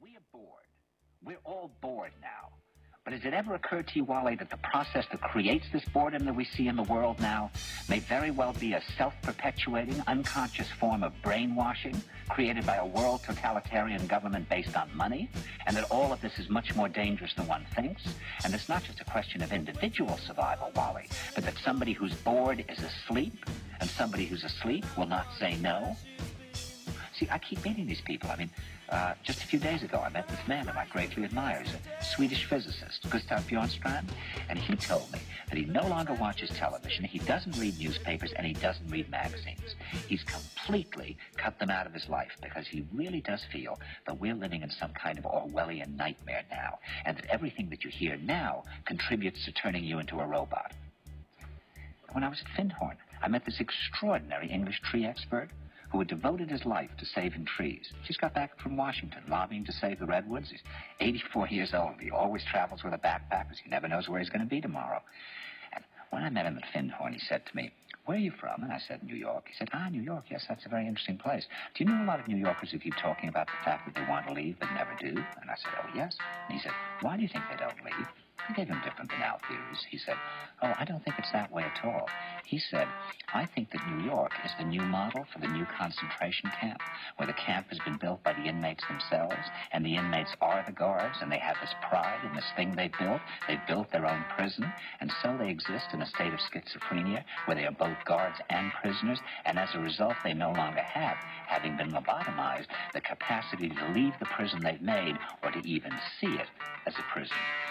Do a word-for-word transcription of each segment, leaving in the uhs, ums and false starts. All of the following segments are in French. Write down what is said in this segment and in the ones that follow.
We are bored. We're all bored now. But has it ever occurred to you, Wally, that the process that creates this boredom that we see in the world now may very well be a self-perpetuating, unconscious form of brainwashing created by a world totalitarian government based on money, and that all of this is much more dangerous than one thinks? And it's not just a question of individual survival, Wally, but that somebody who's bored is asleep, and somebody who's asleep will not say no? See, I keep meeting these people. I mean, uh, just a few days ago, I met this man whom I greatly admire. He's a Swedish physicist, Gustav Bjornstrand, and he told me that he no longer watches television, he doesn't read newspapers, and he doesn't read magazines. He's completely cut them out of his life because he really does feel that we're living in some kind of Orwellian nightmare now, and that everything that you hear now contributes to turning you into a robot. When I was at Findhorn, I met this extraordinary English tree expert who had devoted his life to saving trees. Just got back from Washington, lobbying to save the redwoods. He's eighty-four years old. He always travels with a backpack because he never knows where he's going to be tomorrow. And when I met him at Findhorn, he said to me, "Where are you from?" And I said, "New York." He said, "Ah, New York, yes, that's a very interesting place. Do you know a lot of New Yorkers who keep talking about the fact that they want to leave but never do?" And I said, "Oh, yes." And he said, "Why do you think they don't leave?" I gave him different banal theories. He said, "Oh, I don't think it's that way at all." He said, "I think that New York is the new model for the new concentration camp, where the camp has been built by the inmates themselves, and the inmates are the guards, and they have this pride in this thing they built. They've built their own prison, and so they exist in a state of schizophrenia, where they are both guards and prisoners, and as a result, they no longer have, having been lobotomized, the capacity to leave the prison they've made, or to even see it as a prison."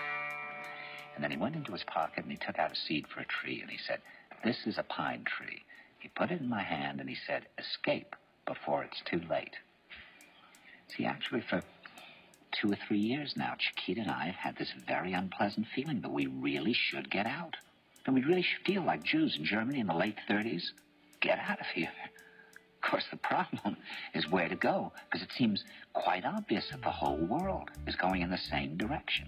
And then he went into his pocket and he took out a seed for a tree and he said, "This is a pine tree." He put it in my hand and he said, "Escape before it's too late." See, actually for two or three years now, Chiquita and I have had this very unpleasant feeling that we really should get out. And we really should feel like Jews in Germany in the late thirties. Get out of here. Of course, the problem is where to go, because it seems quite obvious that the whole world is going in the same direction.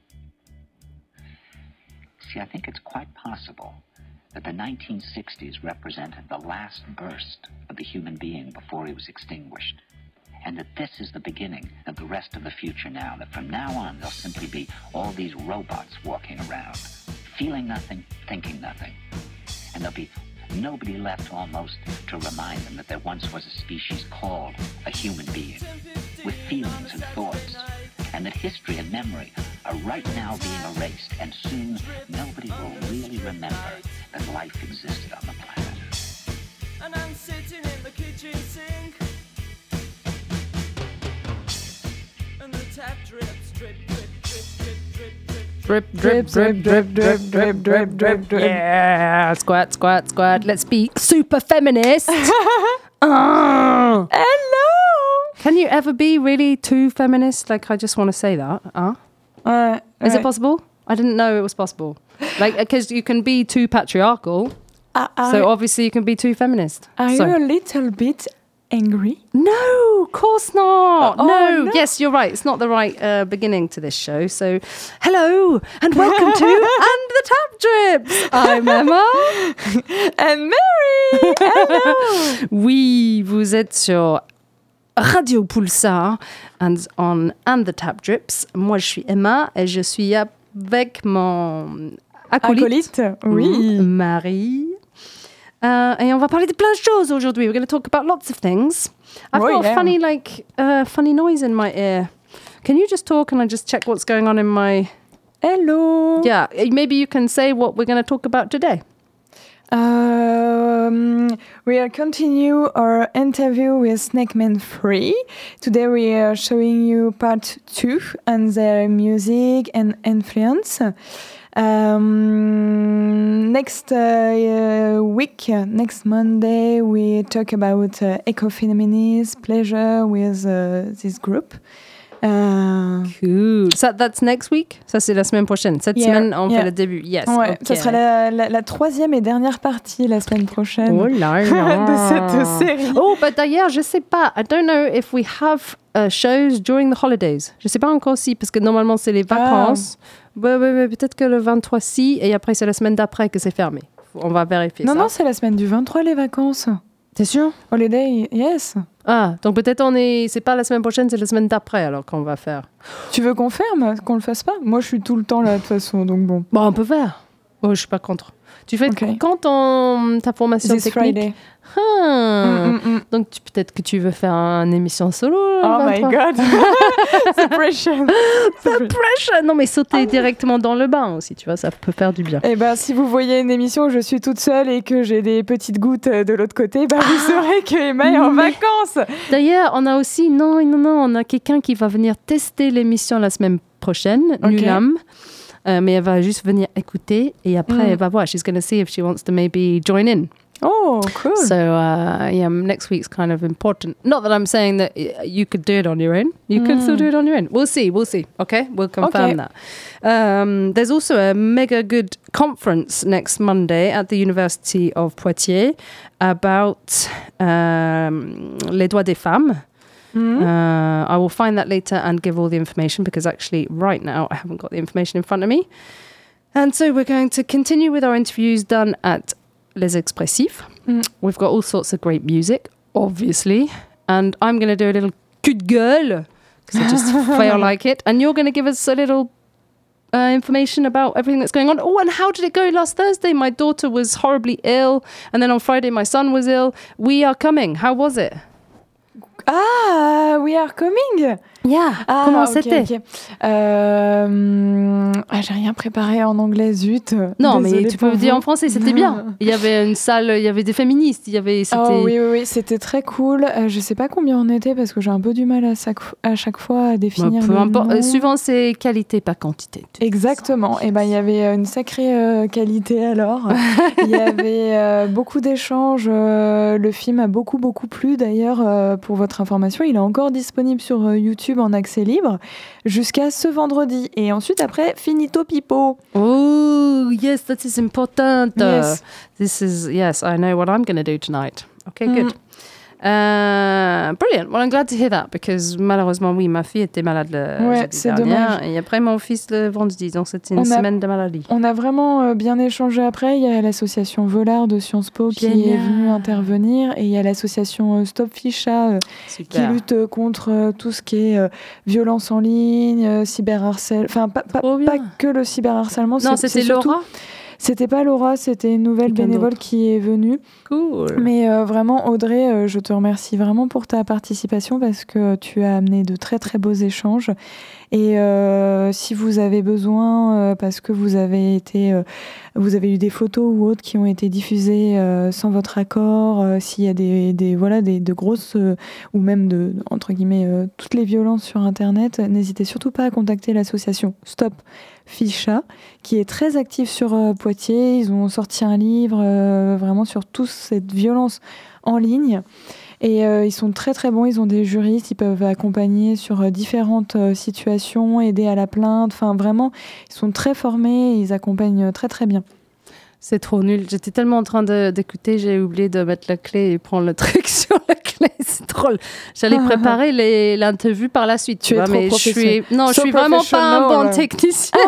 See, I think it's quite possible that the nineteen sixties represented the last burst of the human being before he was extinguished, and that this is the beginning of the rest of the future now, that from now on there'll simply be all these robots walking around, feeling nothing, thinking nothing, and there'll be nobody left almost to remind them that there once was a species called a human being, with feelings and thoughts, and that history and memory are right now being erased, and soon nobody will really remember that life existed on the planet. And I'm sitting in the kitchen sink, and the tap drips, drip, drip, drip, drip, drip, drip, Drip, drip, drip, drip, drip, drip, drip, drip. Yeah, squat, squat, squat. Let's be super feminist. uh. Hello. Can you ever be really too feminist? Like, I just want to say that. Uh? Ouais, Is ouais. it possible? I didn't know it was possible. Like, because you can be too patriarchal. Uh, are, So obviously you can be too feminist. are so. you a little bit angry? No, of course not. Oh, no. no. Yes, you're right. It's not the right uh, beginning to this show. So, hello and welcome to And the Tap Drips. I'm Emma. And Mary. Hello. Oui, vous êtes sur Radio Pulsar and on And the Tap Drips. Moi, je suis Emma et je suis avec mon acolyte, Acolyte, oui. Marie. Uh, et on va parler de plein de choses aujourd'hui. We're going to talk about lots of things. I've Oh, got yeah. a funny, like, uh, funny noise in my ear. Can you just talk and I just check what's going on in my... Hello. Yeah, maybe you can say what we're going to talk about today. Um, we'll continue our interview with Snake Man three. Today we are showing you part two and their music and influence. Um, next uh, week, uh, next Monday, we talk about uh, ecofeminism, pleasure with uh, this group. Uh, Cool. So that's next week? Ça, c'est la semaine prochaine. Cette Yeah, semaine, on yeah. fait le début. Yes. ouais, ok. ça sera la, la, la troisième et dernière partie la semaine prochaine Oh là là. de cette série. Oh, but d'ailleurs, je sais pas. I don't know if we have uh, shows during the holidays. Je sais pas encore si, parce que normalement, c'est les vacances. Ouais, ouais, ouais, peut-être que le vingt-trois, si, et après, c'est la semaine d'après que c'est fermé. On va vérifier Non, ça. non, c'est la semaine du vingt-trois, les vacances. T'es sûr? Holiday, yes. Ah, donc peut-être on est... C'est pas la semaine prochaine, c'est la semaine d'après alors qu'on va faire. Tu veux qu'on ferme, qu'on le fasse pas? Moi, je suis tout le temps là de toute façon, donc bon. Bon, on peut faire. Oh, je suis pas contre. Tu fais Okay. quand ton, ta formation This technique? Friday. Ah. Mm, mm, mm. Donc tu, peut-être que tu veux faire une émission solo. Oh le my vingt-trois. god. The pressure. The pressure. Non mais sauter directement dans le bain aussi, tu vois, ça peut faire du bien. Eh ben, si vous voyez une émission où je suis toute seule et que j'ai des petites gouttes de l'autre côté, bah, vous saurez que Emma est en Mais- vacances. D'ailleurs, on a aussi, non, non, non, on a quelqu'un qui va venir tester l'émission la semaine prochaine, Ok. Nulam. Euh, mais elle va juste venir écouter et après Mm. elle va voir. She's going to see if she wants to maybe join in. Oh, cool. So uh, yeah, next week's kind of important. Not that I'm saying that y- you could do it on your own. You could still do it on your own. We'll see. We'll see. Okay, we'll confirm Okay. that. Um, there's also a mega good conference next Monday at the University of Poitiers about um, les droits des femmes. Mhm. Uh, I will find that later and give all the information because actually right now I haven't got the information in front of me. And so we're going to continue with our interviews done at Les Expressifs. Mm. We've got all sorts of great music, obviously. And I'm going to do a little coup de gueule because I just feel like it. And you're going to give us a little uh, information about everything that's going on. Oh, and how did it go last Thursday? My daughter was horribly ill. And then on Friday, my son was ill. We are coming. How was it? Ah, we are coming. Yeah. Ah, Comment ok, c'était? ok. Euh, ah, j'ai rien préparé en anglais, zut. Non, Désolée mais tu pour peux dire vous. en français, c'était bien. Il y avait une salle, il y avait des féministes, il y avait... C'était... Oh oui, oui, oui, c'était très cool. Euh, je sais pas combien on était parce que j'ai un peu du mal à chaque, à chaque fois à définir Bah, peu le importe. nom. Euh, Suivant ses qualités, pas quantité. Exactement. Et ben il y avait une sacrée euh, qualité alors. Il y avait euh, beaucoup d'échanges. euh, le film a beaucoup beaucoup plu d'ailleurs. euh, pour votre information, il est encore disponible sur euh, YouTube en accès libre jusqu'à ce vendredi. Et ensuite après finito pipo. Oh, yes, that is important. Yes. This is, yes, I know what I'm going to do tonight. Okay, Mm. good. Uh, brilliant. Well, I'm glad to hear that because malheureusement, oui, ma fille était malade le Ouais, jeudi c'est dernier dommage. et après mon fils le vendredi. Donc c'était une On a- semaine de maladie. On a vraiment euh, bien échangé après. Il y a l'association Volard de Sciences Po qui est Génial. venue intervenir et il y a l'association euh, Stop Ficha euh, qui Super. lutte euh, contre euh, tout ce qui est euh, violence en ligne, euh, cyberharcèlement, enfin pas, pas, Trop bien. pas que le cyberharcèlement. Non, c'est- c'était c'est surtout- Laura. C'était pas Laura, c'était une nouvelle Quelqu'un bénévole d'autre. qui est venue. Cool. Mais euh, vraiment, Audrey, euh, je te remercie vraiment pour ta participation parce que tu as amené de très très beaux échanges. Et euh, si vous avez besoin, euh, parce que vous avez été, euh, vous avez eu des photos ou autres qui ont été diffusées euh, sans votre accord, euh, s'il y a des, des voilà des de grosses euh, ou même de entre guillemets euh, toutes les violences sur Internet, n'hésitez surtout pas à contacter l'association Stop Ficha, qui est très active sur euh, Poitiers. Ils ont sorti un livre euh, vraiment sur toute cette violence en ligne. Et euh, ils sont très très bons, ils ont des juristes, ils peuvent accompagner sur euh, différentes euh, situations, aider à la plainte. Enfin vraiment, ils sont très formés et ils accompagnent euh, très très bien. C'est trop nul. J'étais tellement en train de- d'écouter, j'ai oublié de mettre la clé et prendre le truc sur la clé. C'est drôle. J'allais préparer les- l'interview par la suite. Tu es vois, trop mais je suis, professionnel. non, je So suis vraiment pas un professional, bon ouais. technicien.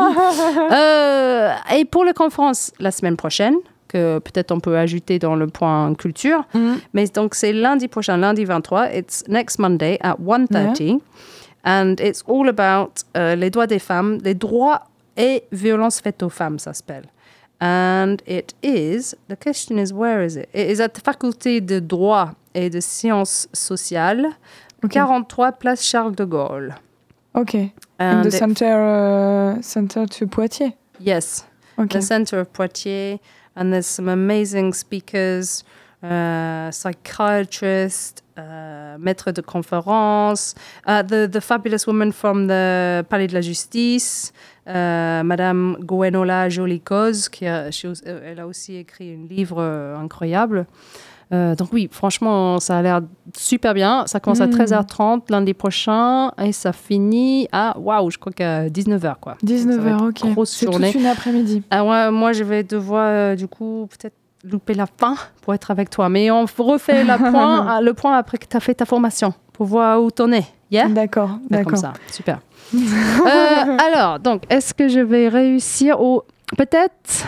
Euh, et pour la conférence la semaine prochaine, que peut-être on peut ajouter dans le point culture, Mm. mais donc c'est lundi prochain, lundi vingt-trois. It's next Monday at one thirty. And it's all about euh, les droits des femmes, les droits et violences faites aux femmes, ça s'appelle. And it is, the question is, where is it? It is at the faculté de droit et de sciences sociales, Ok. quarante-trois place Charles de Gaulle. Ok. In And the it- center, uh, center to Poitiers. yes, Ok. the center of Poitiers, and there's some amazing speakers, uh, psychiatrists, uh, maîtres de conférences, uh, the, the fabulous woman from the Palais de la Justice, uh, Madame Gwenola Jolicose, qui a, she was- elle a aussi écrit un livre euh, incroyable. Euh, donc oui, franchement, ça a l'air super bien. Ça commence à Mm. treize heures trente lundi prochain et ça finit à, waouh, je crois qu'à dix-neuf heures, quoi. dix-neuf Ça va heures, être ok. grosse C'est journée. toute une après-midi. Ah ouais, moi, je vais devoir, euh, du coup, peut-être louper la fin pour être avec toi. Mais on refait la point, le point après que tu as fait ta formation pour voir où t'en es. Yeah? D'accord, Fait Comme d'accord. ça, super. Euh, alors, donc, est-ce que je vais réussir au... Peut-être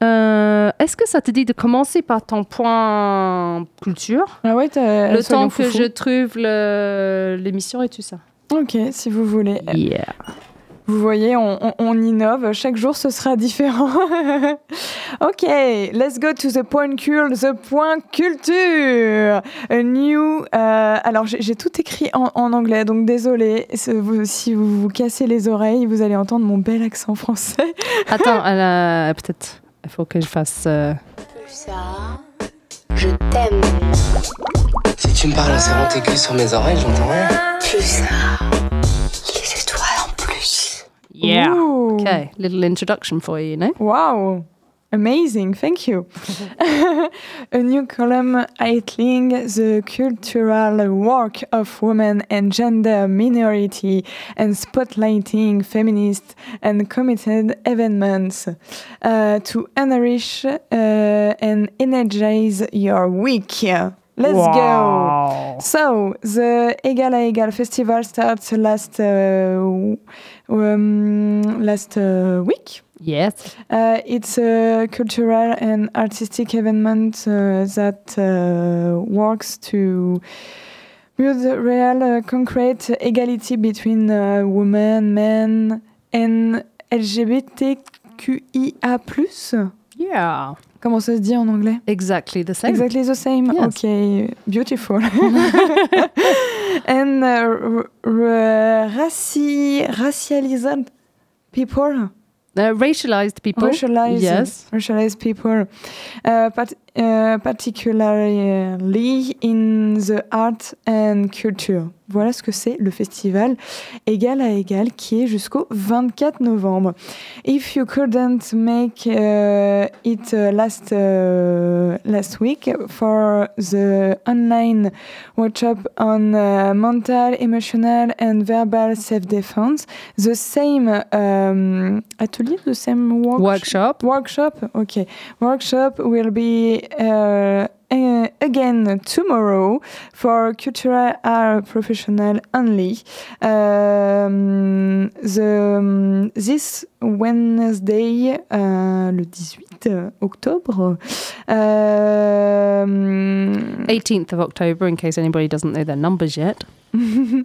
Euh, est-ce que ça te dit de commencer par ton point culture? Ah ouais, t'as, le temps foufou. que je trouve le, l'émission et tout ça. Ok, si vous voulez. Yeah. Vous voyez, on, on, on innove. Chaque jour, ce sera différent. Ok, let's go to the point cul, the point culture. A new. Euh, alors, j'ai, j'ai tout écrit en, en anglais, donc désolé. Si vous, si vous vous cassez les oreilles, vous allez entendre mon bel accent français. Attends, elle a, peut-être. Il faut que je fasse. Euh... Plus ça, je t'aime. Si tu me parles en serrant tes culs sur mes oreilles, j'entends rien. Plus ça, les étoiles en plus. Yeah. Ooh. Okay, little introduction for you, you know? Wow. Amazing, thank you. A new column titling The Cultural Work of Women and Gender Minority and Spotlighting Feminist and Committed Events uh, to enrich uh, and energize your week. Let's Wow. go. So, the Egal à Egal festival starts last, uh, um, last uh, week. Yes. Uh, it's a cultural and artistic event uh, that uh, works to build real, uh, concrete equality between uh, women, men, and L G B T Q I A plus. Yeah. Comment ça se dit en anglais? Exactly the same. Exactly the same. Yes. Okay, beautiful. And uh, r- r- raci- racialized people. Uh, racialized people. Racialized, Yes. racialized people, uh, part, uh, particularly in the art and culture. Voilà ce que c'est le festival Égal à Égal qui est jusqu'au vingt-quatre novembre. If you couldn't make uh, it uh, last uh, last week for the online workshop on uh, mental, emotional and verbal self-defense, the same um, atelier, the same work- Workshop. workshop, okay, workshop will be uh, uh, again tomorrow for cultural art professional only. Um, the, um, this Wednesday, uh, le dix-huit octobre. Um, eighteenth of October, in case anybody doesn't know their numbers yet. um,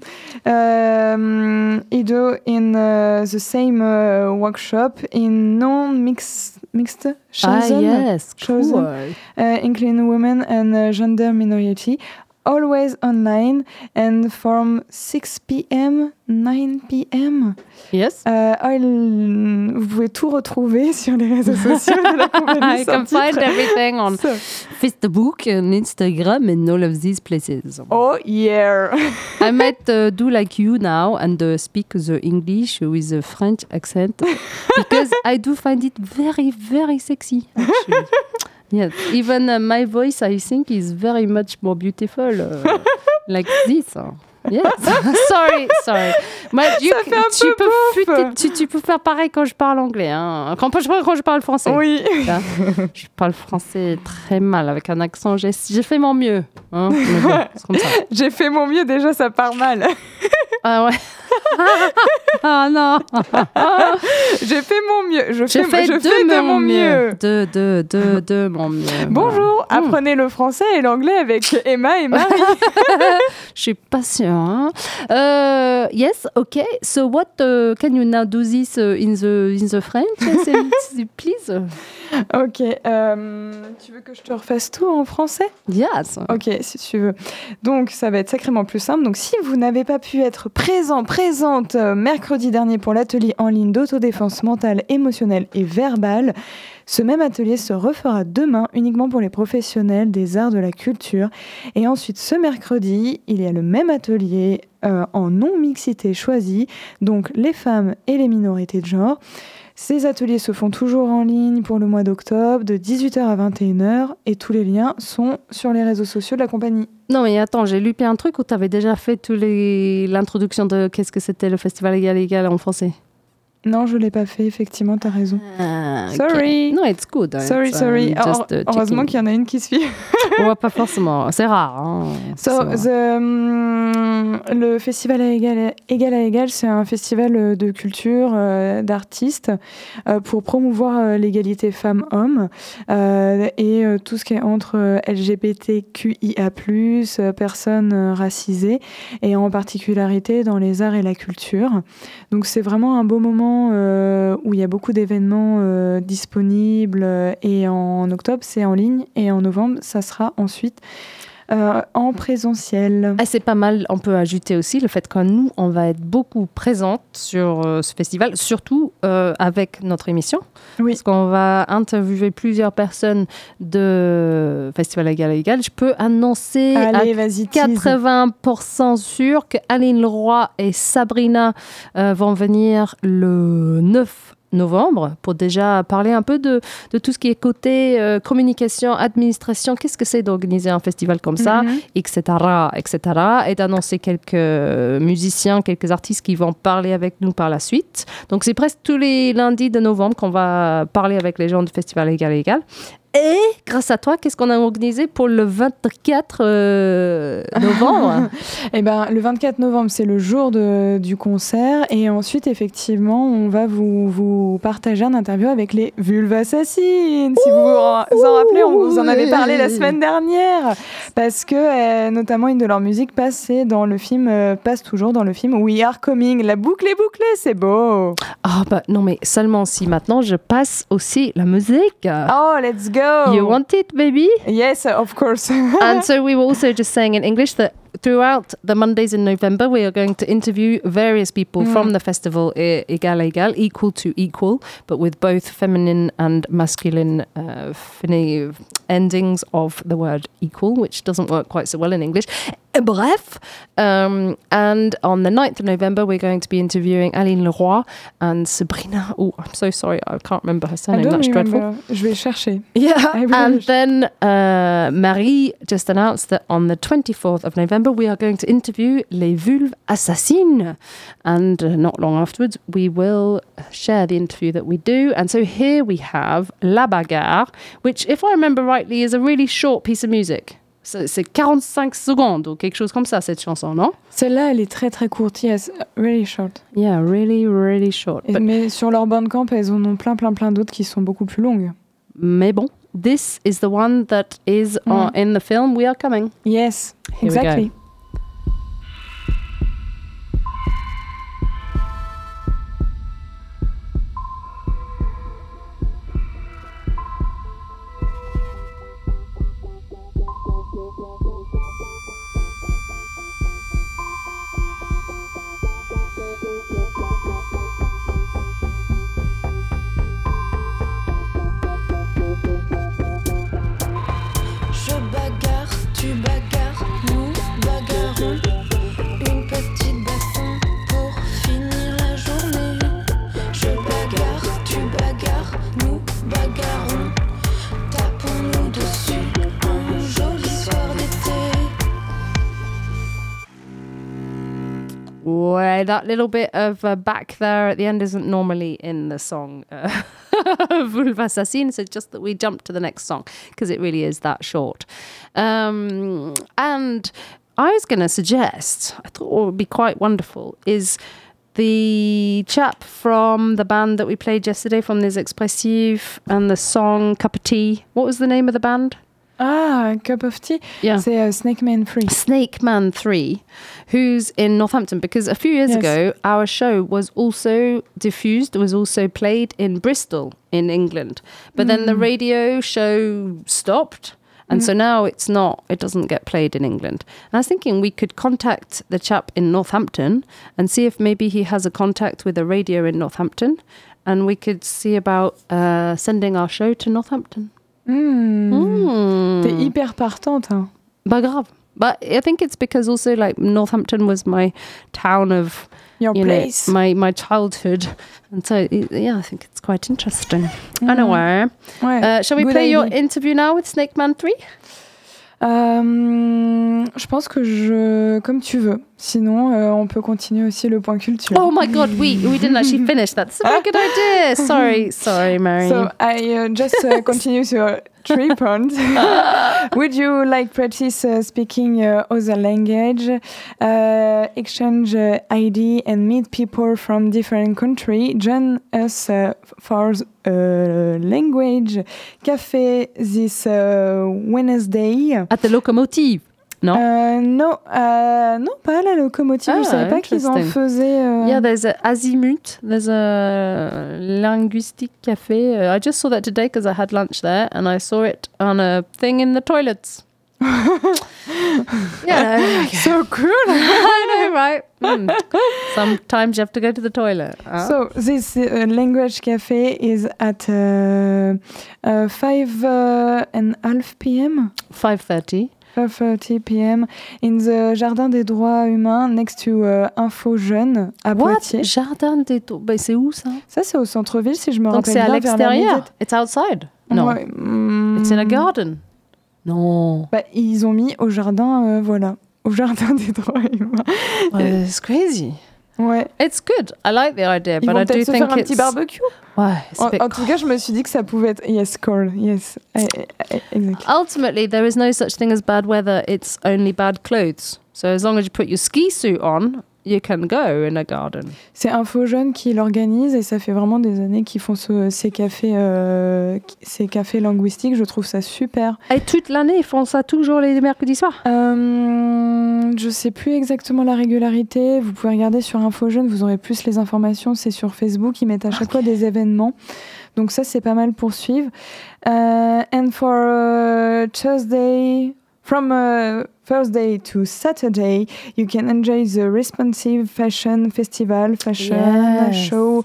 Ido in uh, the same uh, workshop in non-mixed mixed chosen, Ah, yes. chosen. Cool. uh, including women and uh, gender minority, always online and from six p.m. nine p.m. Yes. Uh, I'll- vous pouvez tout retrouver sur les réseaux sociaux de la compagnie. You sans can find titre. everything on So- Facebook and Instagram and all of these places. Oh yeah. I might uh, do like you now and uh, speak the English with a French accent because I do find it very, very sexy. Actually. Yes, even uh, my voice, I think, is very much more beautiful uh, like this. Yes, sorry, sorry. Moi, tu, Ça fait un tu, peu peux, beauf. tu, tu peux faire pareil quand je parle anglais. Hein. Quand, je, quand je parle français. Oui. Là, je parle français très mal, avec un accent. J'ai, j'ai fait mon mieux. Hein. Mais bon, c'est comme ça. J'ai fait mon mieux, déjà ça part mal. Ah ouais. Ah non. J'ai fait mon mieux. Je J'ai fais, fait, je de, fais de mon mieux. De, de, de, de mon mieux. Bonjour, Voilà. apprenez le français et l'anglais avec Emma et Marie. Je suis pas sûre. Hein. Uh, yes, okay. So what uh, can you now do this uh, in the in the French, please? Ok, euh, tu veux que je te refasse tout en français? Yes. Ok, si tu veux. Donc, ça va être sacrément plus simple. Donc, si vous n'avez pas pu être présent, présente euh, mercredi dernier pour l'atelier en ligne d'autodéfense mentale, émotionnelle et verbale, ce même atelier se refera demain uniquement pour les professionnels des arts de la culture. Et ensuite, ce mercredi, il y a le même atelier euh, en non-mixité choisie, donc les femmes et les minorités de genre. Ces ateliers se font toujours en ligne pour le mois d'octobre, de dix-huit heures à vingt et une heures, et tous les liens sont sur les réseaux sociaux de la compagnie. Non, mais attends, j'ai loupé un truc où tu avais déjà fait tous les... l'introduction de qu'est-ce que c'était le festival Égal Égal en français. Non, je l'ai pas fait, effectivement, t'as raison. Ah, okay. Sorry. No, it's good. Sorry, it's, sorry. um, just, uh, Heureusement checking. qu'il y en a une qui suit. Ouais, pas forcément. C'est rare. Hein. So, C'est the, um, le festival à égal, égal à égal, c'est un festival de culture, euh, d'artistes, euh, pour promouvoir euh, l'égalité femmes-hommes euh, et euh, tout ce qui est entre euh, L G B T Q I A plus, euh, personnes euh, racisées, et en particularité dans les arts et la culture. Donc c'est vraiment un beau moment euh, où il y a beaucoup d'événements euh, disponibles, euh, et en octobre, c'est en ligne, et en novembre, ça sera ensuite Euh, en présentiel. Ah, c'est pas mal. On peut ajouter aussi le fait que nous, on va être beaucoup présentes sur euh, ce festival, surtout euh, avec notre émission. Oui. Parce qu'on va interviewer plusieurs personnes de Festival Égal à Égal. Je peux annoncer Allez, à vas-y, quatre-vingts pour cent sûr que Aline Leroy et Sabrina euh, vont venir le neuf novembre pour déjà parler un peu de, de tout ce qui est côté euh, communication, administration, qu'est-ce que c'est d'organiser un festival comme ça, Mhm. et cetera, et cetera, et d'annoncer quelques musiciens, quelques artistes qui vont parler avec nous par la suite. Donc c'est presque tous les lundis de novembre qu'on va parler avec les gens du Festival Égal à Égal. Et grâce à toi, qu'est-ce qu'on a organisé pour le vingt-quatre euh, novembre? Eh ben, le vingt-quatre novembre, c'est le jour de, du concert. Et ensuite, effectivement, on va vous, vous partager un interview avec les Vulvassassines. Si vous vous en rappelez, on vous en avait parlé la semaine dernière. Parce que, euh, notamment, une de leurs musiques passait dans le film, euh, passe toujours dans le film We Are Coming. La boucle est bouclée, c'est beau. Ah bah non, mais seulement si maintenant je passe aussi la musique. Oh, let's go. You want it, baby? Yes, of course. And so we were also just saying in English that throughout the Mondays in November, we are going to interview various people Mm. from the festival e- Égal à Égal, equal to equal, but with both feminine and masculine uh, fini- endings of the word equal, which doesn't work quite so well in English. Bref, um, and on the ninth of November, we're going to be interviewing Aline Leroy and Sabrina. Oh, I'm so sorry, I can't remember her I surname. don't That's dreadful. remember. Je vais chercher. Yeah, I really and wish. then uh, Marie just announced that on the twenty-fourth of November we are going to interview les Vulves Assassines, and uh, not long afterwards we will share the interview that we do. And so here we have La Bagarre, which, if I remember rightly, is a really short piece of music. C'est c'est quarante-cinq secondes ou quelque chose comme ça, cette chanson, non? Celle-là, elle est très très courte. Yes, really short. Yeah, really, really short. Et- But- mais sur leur Bandcamp, elles en ont plein plein plein d'autres qui sont beaucoup plus longues. mais bon, this is the one that is on, in the film We Are Coming. Yes, Here we go. exactly. Je bagarre, tu bagarres, nous bagarrons. Une petite baston pour finir la journée. Je bagarre, tu bagarres, nous bagarrons. Tapons-nous dessus un joli soir d'été. Ouais, that little bit of uh, back there at the end isn't normally in the song uh, Vulve Assassines. It's just that we jump to the next song because it really is that short. Um, and I was going to suggest, I thought what would be quite wonderful is the chap from the band that we played yesterday from Les Expressifs and the song Cup of Tea. What was the name of the band? Ah, Cup of Tea. Yeah. C'est euh, Snake Man Free. Snake Man three, who's in Northampton, because a few years Yes. ago our show was also diffused, was also played in Bristol in England, but then the radio show stopped, and so now it's not, it doesn't get played in England. And I was thinking we could contact the chap in Northampton and see if maybe he has a contact with a radio in Northampton, and we could see about uh, sending our show to Northampton. Hmm. Hmm. T'es hyper partante. Hein. Bah grave. But I think it's because also like Northampton was my town of Your you know, place. my my childhood, and so yeah, I think it's quite interesting. Anyway, Ouais. uh, shall we Good play your idea. interview now with Snake Man three? Euh, je pense que je... Comme tu veux. Sinon, euh, on peut continuer aussi le point culture. Oh my God, we we didn't actually finish that. That's a very good idea. Sorry, sorry, Mary. So I uh, just uh, continue to three points. Would you like practice uh, speaking uh, other language, uh, exchange uh, I D and meet people from different countries? Join us uh, for uh, language cafe this uh, Wednesday. At the locomotive. No. Euh, non, euh, non, pas à la locomotive. Ah, je savais pas qu'ils en interesting. faisaient. Euh... Yeah, there's a Azimut. There's a linguistic cafe. Uh, I just saw that today because I had lunch there, and I saw it on a thing in the toilets. Yeah, okay. So cool. I know, right? Mm. Sometimes you have to go to the toilet. Huh? So this uh, language cafe is at uh, uh, five uh, and a half p.m. five thirty. five thirty p.m. in the Jardin des Droits Humains next to uh, Info Jeune à What? Poitiers. Jardin des Droits. Ben, c'est où ça? Ça, c'est au centre-ville, si je me Donc rappelle c'est à bien. vers la l'extérieur. médiathèque. It's outside. No. Ouais, mm, It's in a garden. Non. bah, ils ont mis au jardin, euh, voilà, au Jardin des Droits Humains. Uh, it's crazy. Ouais. It's good. I like the idea, Ils but vont I do peut-être se think faire un it's... petit barbecue. Ouais, it's a En, bit en tout cas, je me suis dit que ça pouvait être yes, cold, yes, I, I, I, exactly. Ultimately, there is no such thing as bad weather. It's only bad clothes. So as long as you put your ski suit on, you can go in a garden. C'est Info Jeune qui l'organise et ça fait vraiment des années qu'ils font ce, ces cafés, euh, ces cafés linguistiques. Je trouve ça super. Et toute l'année, ils font ça toujours les mercredis soirs. Euh, je sais plus exactement la régularité. Vous pouvez regarder sur Info Jeune, vous aurez plus les informations. C'est sur Facebook, ils mettent à chaque Okay. fois des événements. Donc ça, c'est pas mal pour suivre. Uh, and for uh, Tuesday, from uh, Thursday to Saturday, you can enjoy the Responsive Fashion Festival, fashion Yes. show,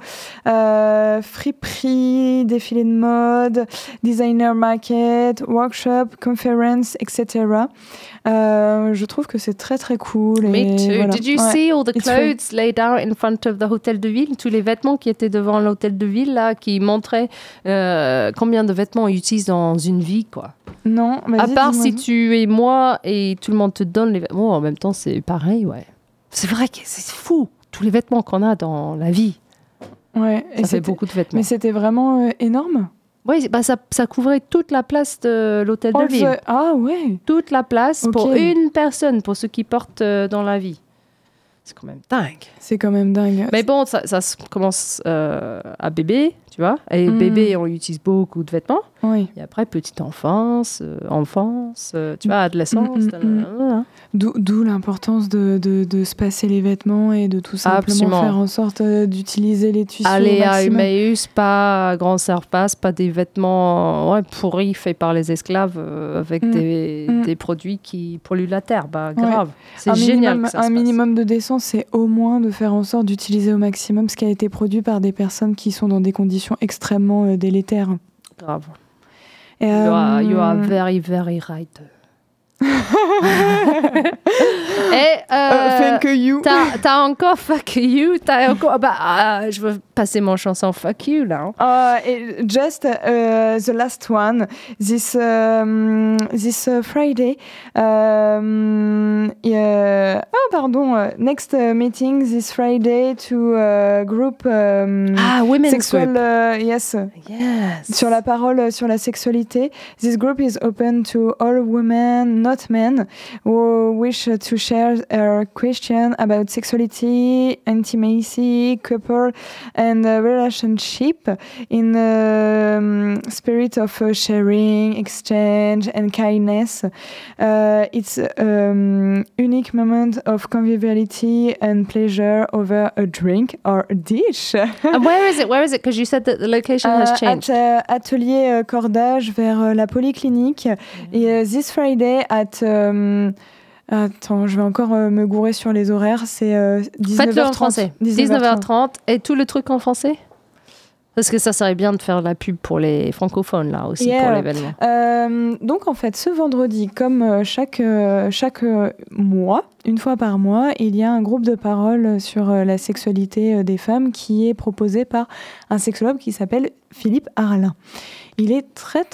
uh, friperie, défilé de mode, designer market, workshop, conference, et cetera. Euh, je trouve que c'est très très cool. Me et too. voilà. Did you Ouais. see all the It's free. clothes laid out in front of the Hôtel de Ville? Tous les vêtements qui étaient devant l'Hôtel de Ville, là, qui montraient euh, combien de vêtements on utilise dans une vie, quoi. Non, À vas-y, part dis-moi. si tu es moi et tout le monde te donne les vêtements, en même temps, c'est pareil, ouais. C'est vrai que c'est fou, tous les vêtements qu'on a dans la vie. Ouais, et Ça fait c'était- beaucoup de vêtements. Mais c'était vraiment euh, énorme. Oui, bah ça, ça couvrait toute la place de l'Hôtel de All Ville. the- Ah ouais. Toute la place Ok. pour une personne, pour ceux qui portent euh, dans la vie. C'est quand même dingue. C'est quand même dingue. Mais bon, ça, ça se commence euh, à bébé, tu vois. Et Mm. bébé, on utilise beaucoup de vêtements. Oui. Et après, petite enfance, euh, enfance, euh, tu vois, adolescence. Mm, mm, nanana. D'où, d'où l'importance de, de, de se passer les vêtements et de tout simplement Absolument. faire en sorte euh, d'utiliser les tissus Aller au à maximum. Emmaüs, pas à Grand Surface, pas des vêtements ouais, pourris faits par les esclaves euh, avec Mm. des, Mm. des produits qui polluent la terre. Bah, grave. C'est un génial minimum, que ça un se passe. minimum de décence, c'est au moins de faire en sorte d'utiliser au maximum ce qui a été produit par des personnes qui sont dans des conditions extrêmement euh, délétères. Grave. Et, You are, you are euh, very, very right. Et euh, euh, thank you. t'as, t'as encore fuck you, t'as encore bah ah, je veux passer mon chanson fuck you là. hein. Uh, it- just uh, the last one this um, this uh, Friday. Um, yeah. Oh, pardon. uh, Next uh, meeting this Friday to uh, group um, Ah, women's sexual. group. Uh, yes. Yes. Sur la parole, euh, sur la sexualité. This group is open to all women, not men, who wish to share a question about sexuality, intimacy, couple, and uh, relationship in the um, spirit of uh, sharing, exchange, and kindness. Uh, it's a um, unique moment of conviviality and pleasure over a drink or a dish. And where is it? Where is it? Because you said that the location has Euh, changed. at, euh, atelier euh, cordage vers euh, la polyclinique. Et euh, this Friday at... euh, attends, je vais encore euh, me gourer sur les horaires. C'est euh, dix-neuf Faites-le heures en trente. français. dix-neuf heures trente et tout le truc en français. Parce que ça serait bien de faire de la pub pour les francophones là aussi Yeah. pour l'événement. Euh, donc en fait, ce vendredi, comme euh, chaque, euh, chaque euh, mois, une fois par mois, il y a un groupe de parole sur euh, la sexualité euh, des femmes qui est proposé par un sexologue qui s'appelle Philippe Arlin. Il est très très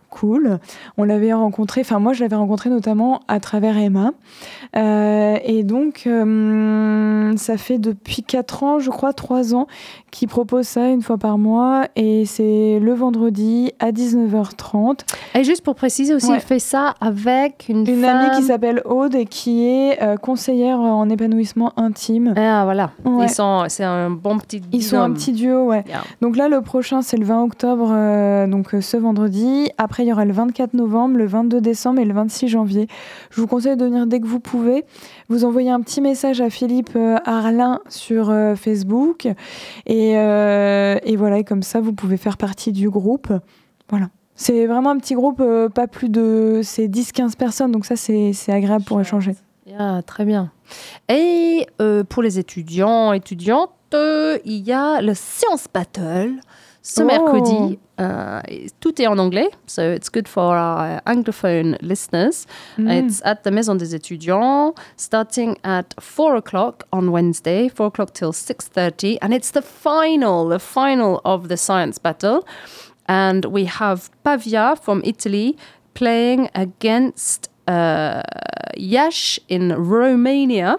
cool. On l'avait rencontré, enfin moi je l'avais rencontré notamment à travers Emma. Euh, et donc euh, ça fait depuis quatre ans, je crois, trois ans, qu'il propose ça une fois par mois. Et c'est le vendredi à dix-neuf heures trente. Et juste pour préciser aussi, Ouais. il fait ça avec une, Une femme... amie qui s'appelle Aude et qui est euh, conseillère en épanouissement intime. Ah, voilà. Ouais. Ils sont, c'est un bon petit Ils sont un binôme. petit duo, ouais. Yeah. Donc là, le prochain, c'est le vingt octobre, euh, donc euh, ce vendredi. Après, il y aura le vingt-quatre novembre, le vingt-deux décembre et le vingt-six janvier. Je vous conseille de venir dès que vous pouvez. Vous envoyez un petit message à Philippe euh, Arlin sur euh, Facebook. Et, euh, et voilà, et comme ça, vous pouvez faire partie du groupe. Voilà. C'est vraiment un petit groupe, euh, pas plus de... C'est dix quinze personnes, donc ça, c'est, c'est agréable pour échanger. Yeah, très bien. Et euh, pour les étudiants, étudiantes, euh, il y a le Science Battle ce Oh. mercredi. Euh, et tout est en anglais, so it's good for our anglophone listeners. Mm. It's at the Maison des Étudiants, starting at four o'clock on Wednesday, four o'clock till six thirty. And it's the final, the final of the Science Battle. And we have Pavia from Italy playing against uh, Yash in Romania.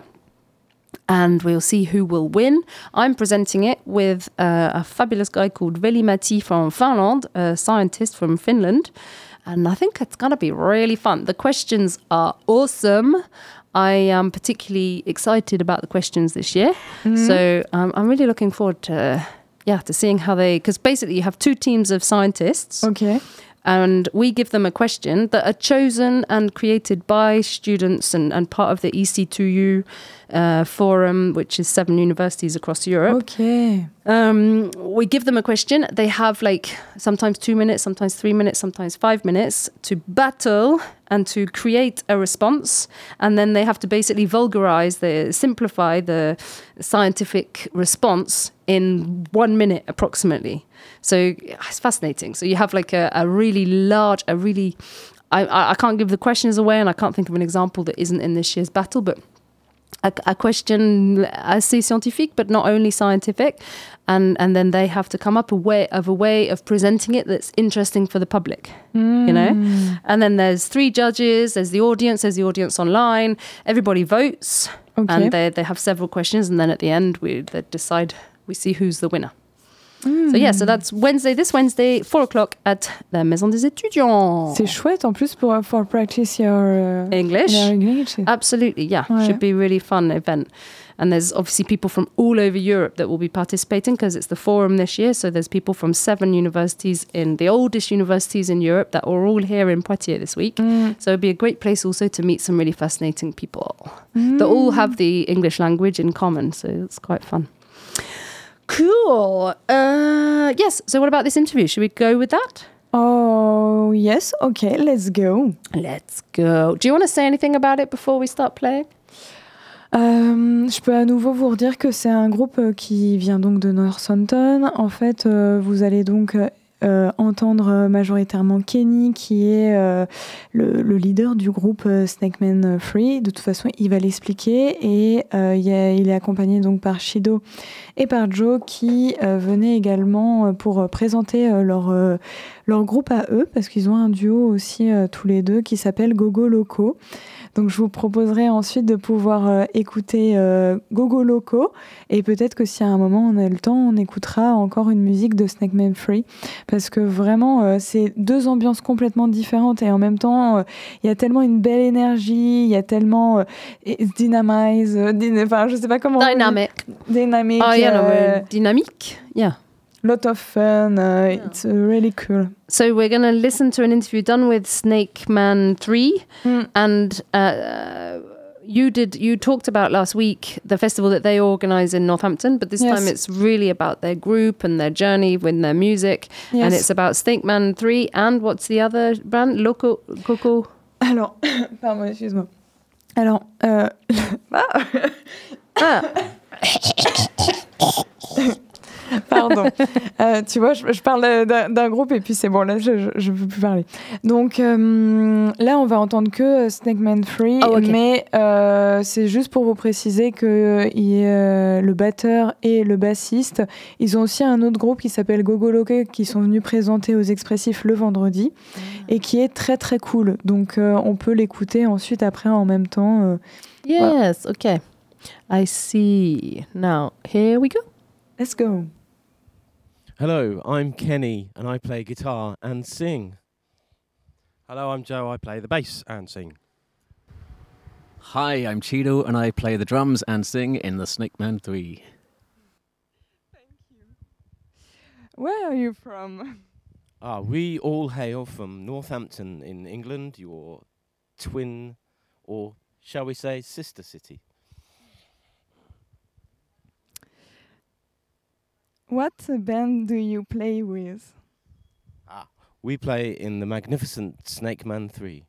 And we'll see who will win. I'm presenting it with uh, a fabulous guy called Veli-Matti from Finland, a scientist from Finland. And I think it's going to be really fun. The questions are awesome. I am particularly excited about the questions this year. So um, I'm really looking forward to, yeah, to seeing how they... Because basically you have two teams of scientists. Ok. And we give them a question that are chosen and created by students and, and part of the E C two U uh, forum, which is seven universities across Europe. Ok. Um, we give them a question. They have like sometimes two minutes, sometimes three minutes, sometimes five minutes to battle and to create a response. And then they have to basically vulgarize, the, simplify the scientific response in one minute approximately. So it's fascinating. So you have like a, a really large, a really, I, I I can't give the questions away and I can't think of an example that isn't in this year's battle, but a, a question assez scientifique, but not only scientific. And, and then they have to come up a way of a way of presenting it that's interesting for the public, Mm. you know? And then there's three judges, there's the audience, there's the audience online. Everybody votes Ok. and they, they have several questions. And then at the end, we they decide, we see who's the winner. So yeah, so that's Wednesday, this Wednesday, four o'clock at la Maison des Étudiants. C'est chouette en plus pour, for practice your uh, English. your English. Absolutely, yeah. Ouais. Should be a really fun event. And there's obviously people from all over Europe that will be participating because it's the forum this year. So there's people from seven universities in the oldest universities in Europe that are all here in Poitiers this week. Mm. So it'd be a great place also to meet some really fascinating people that all have the English language in common. So it's quite fun. Cool. Uh, yes. So what about this interview? Should we go with that? Oh, yes. Okay, let's go. Let's go. Do you want to say anything about it before we start playing? Euh, je peux à nouveau vous redire que c'est un groupe euh, qui vient donc de Northampton. En fait, euh, vous allez donc euh, entendre majoritairement Kenny, qui est euh, le, le leader du groupe euh, Snakeman Free. De toute façon, il va l'expliquer. Et euh, il, y a, il est accompagné donc par Shido et par Joe, qui euh, venaient également pour présenter euh, leur, euh, leur groupe à eux, parce qu'ils ont un duo aussi euh, tous les deux qui s'appelle Gogo Loco. Donc je vous proposerai ensuite de pouvoir euh, écouter euh, Gogo Loco, et peut-être que si à un moment on a le temps, on écoutera encore une musique de Snakeman Free, parce que vraiment euh, c'est deux ambiances complètement différentes, et en même temps il euh, y a tellement une belle énergie, il y a tellement euh, dynamize, euh, dyna- enfin je sais pas comment Dynamic. dynamique, Oh, yeah, no, euh, uh, dynamique. Yeah. lot of fun, uh, it's uh, really cool. So we're going to listen to an interview done with Snake Man three. Mm. And uh, you did, you talked about last week the festival that they organise in Northampton, but this Yes. time it's really about their group and their journey with their music. Yes. And it's about Snake Man three and what's the other brand? Loco, Coco. Alors, pardon, excuse-moi. Alors, euh, ah. Ah, Pardon. Pardon. Euh, tu vois, je, je parle d'un, d'un groupe et puis c'est bon, là, je ne peux plus parler. Donc euh, là, on va entendre que Snake Man trois, Oh, okay. mais euh, c'est juste pour vous préciser que euh, il, euh, le batteur et le bassiste, ils ont aussi un autre groupe qui s'appelle Gogo Loke qui sont venus présenter aux Expressifs le vendredi Ah. et qui est très très cool. Donc euh, on peut l'écouter ensuite après en même temps. Euh, Yes, okay. I see. Now, here we go. let's go. Hello, I'm Kenny and I play guitar and sing. Hello, I'm Joe. I play the bass and sing. Hi, I'm Cheeto and I play the drums and sing in the Snake Man three. Where are you from? Ah, we all hail from Northampton in England, your twin, or shall we say, sister city. What band do you play with? Ah, we play in the magnificent Snake Man three.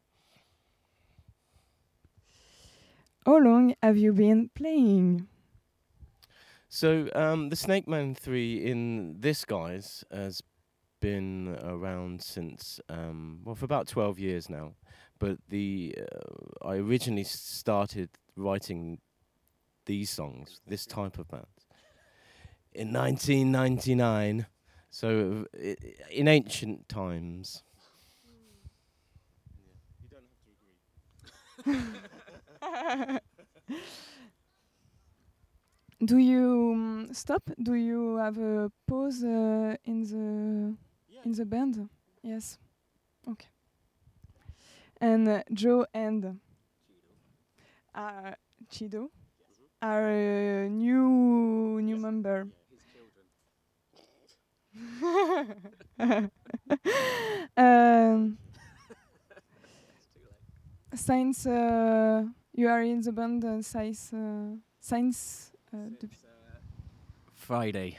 How long have you been playing? So, um, the Snake Man three in this guise has been around since, um, well, for about twelve years now. But the uh, I originally started writing these songs, this type of band, in nineteen ninety-nine. So, uh, in ancient times. You don't have to agree. Do you um, stop? Do you have a pause uh, in the in the band? Yes. Okay. And uh, Joe and uh, Chido are a new new member. um, since uh, you are in the band, uh, since uh, since uh, depuis- Friday.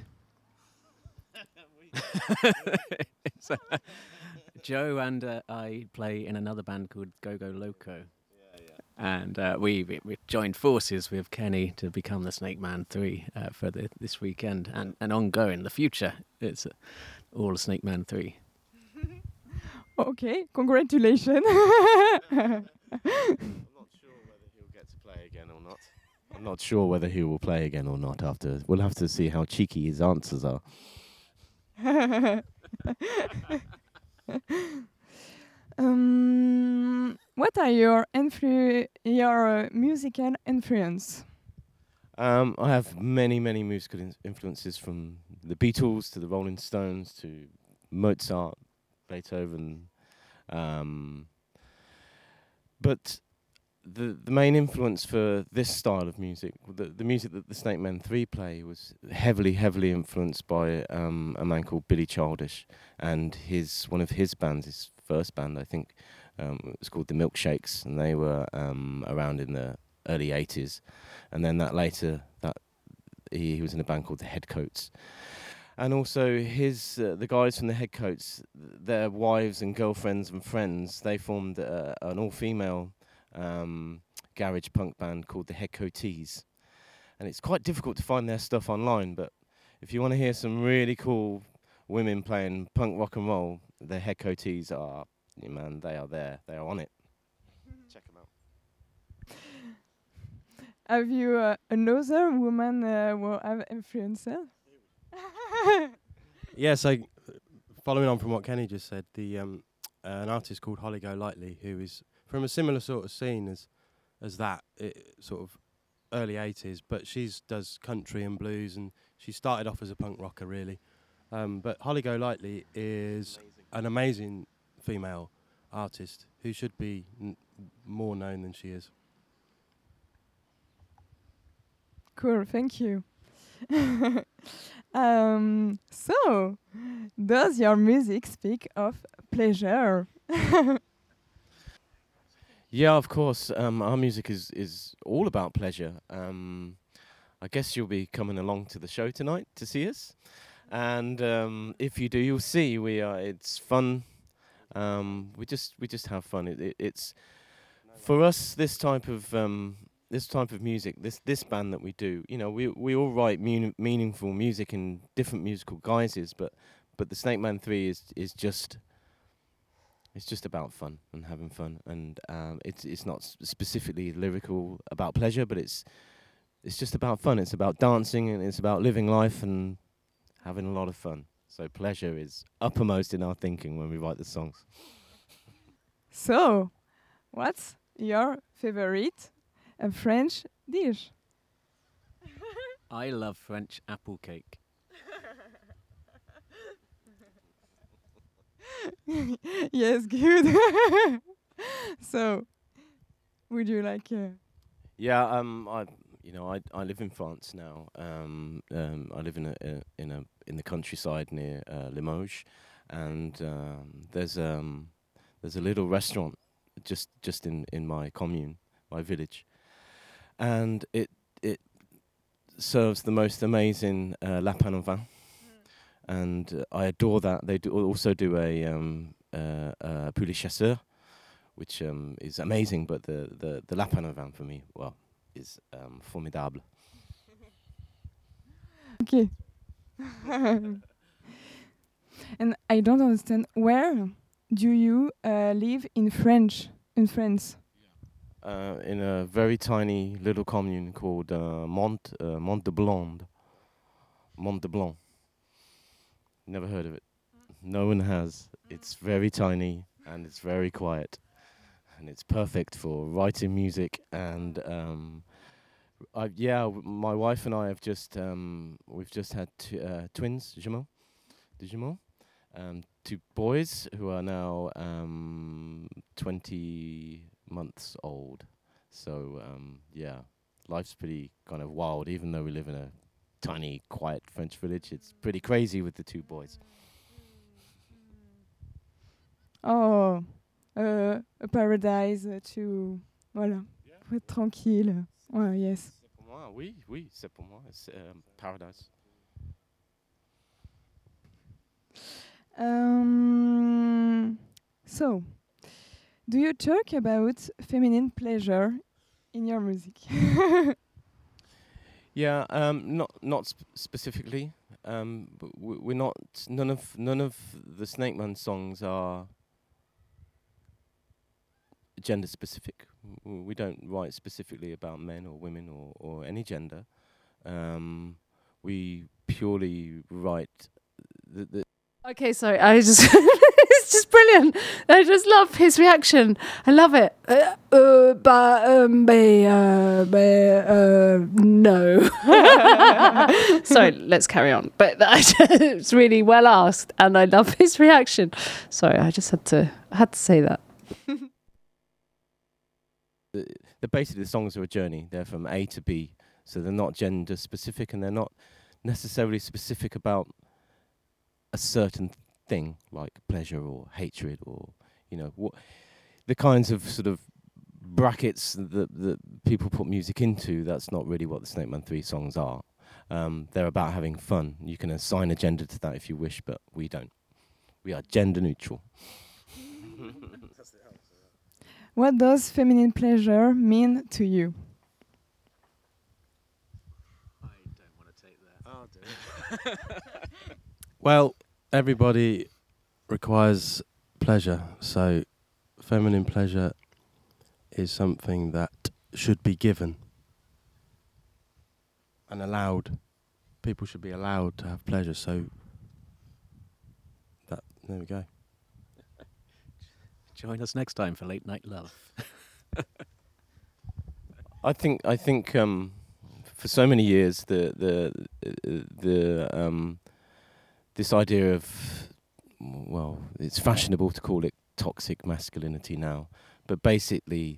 So, Joe and uh, I play in another band called Go Go Loco. And uh, we, we we joined forces with Kenny to become the Snake Man three uh, for the, this weekend and, and ongoing. The future, it's uh, all Snake Man three. Okay, congratulations. I'm not sure whether he'll get to play again or not. I'm not sure whether he will play again or not after. We'll have to see how cheeky his answers are. um, what are your influ- your uh, musical influence? Um, I have many, many musical in- influences from the Beatles to the Rolling Stones to Mozart, Beethoven. Um, but the the main influence for this style of music, the, the music that the Snake Man three play, was heavily, heavily influenced by um, a man called Billy Childish and his one of his bands, his first band, I think, um, it was called the Milkshakes, and they were um, around in the early eighties, and then that later that he, he was in a band called the Headcoats. And also his uh, the guys from the Headcoats, their wives and girlfriends and friends, they formed uh, an all-female um, garage punk band called the Headcoatees. And it's quite difficult to find their stuff online, but if you want to hear some really cool women playing punk rock and roll, the Headcoatees are, yeah, man, they are there. They are on it. Check them out. Have you uh, another woman uh, who have influencer? Yes, I, following on from what Kenny just said, the um, uh, an artist called Holly Golightly, who is from a similar sort of scene as as that, it, sort of early eighties, but she's does country and blues, and she started off as a punk rocker, really. Um, but Holly Golightly is amazing. an amazing female artist who should be n- more known than she is. Cool, thank you. um, so, does your music speak of pleasure? Yeah, of course. Um, our music is, is all about pleasure. Um, I guess you'll be coming along to the show tonight to see us, and um, if you do, you'll see we are. It's fun. Um, we just we just have fun. It, it, it's for us, this type of um, this type of music, this this band that we do, you know, we we all write mean, meaningful music in different musical guises, but but the Snake Man three is is just it's just about fun and having fun, and um, it's it's not s- specifically lyrical about pleasure, but it's it's just about fun. It's about dancing and it's about living life and having a lot of fun. So pleasure is uppermost in our thinking when we write the songs. So, what's your favorite uh, French dish? I love French apple cake. Yes, good. So, would you like? Uh, Yeah, um, I, you know, I I live in France now. Um, um, I live in a, a in a in the countryside near uh, Limoges, and um, there's um there's a little restaurant just just in, in my commune, my village, and it it serves the most amazing uh, lapin au vin, and uh, I adore that. They do also do a um uh, uh, poulet chasseur, which um, is amazing, but the, the, the lapin au vin for me, well, is um, formidable. okay. And I don't understand. Where do you uh, live in French? In France? Uh, in a very tiny little commune called uh, Mont uh, Mont de Blonde. Mont de Blanc. Never heard of it. No one has. It's very tiny and it's very quiet. And it's perfect for writing music and um, I yeah, w- my wife and I have just um, we've just had t- uh, twins, jumeaux, des jumeaux, um, two boys who are now um, twenty months old. So um, yeah, life's pretty kind of wild. Even though we live in a tiny, quiet French village, it's pretty crazy with the two boys. Oh, uh, a paradise uh, to voilà, pour être tranquille. Ouais, yes. C'est pour moi, oui, oui, c'est pour moi, c'est um, paradise. Um, so, do you talk about feminine pleasure in your music? Yeah, um, not not sp- specifically. Um, but w- we're not. None of none of the Snake Man songs are gender specific. W- We don't write specifically about men or women or, or any gender. Um, we purely write the, the Okay, sorry. I just it's just brilliant. I just love his reaction. I love it. Uh, uh, but um, be, uh, be, uh, no. Sorry, let's carry on. But it's really well asked, and I love his reaction. Sorry, I just had to I had to say that. the, the basically the songs are a journey. They're from A to B, so they're not gender specific, and they're not necessarily specific about a certain thing like pleasure or hatred or you know what the kinds of sort of brackets that that people put music into. That's not really what the Snake Man three songs are. Um, they're about having fun. You can assign a gender to that if you wish, but we don't. We are gender neutral. What does feminine pleasure mean to you? I don't want to take that. I'll do it. Well, everybody requires pleasure, so feminine pleasure is something that should be given and allowed. People should be allowed to have pleasure, so that there we go. Join us next time for Late Night Love. I think I think um, for so many years the the uh, the um, this idea of well, it's fashionable to call it toxic masculinity now, but basically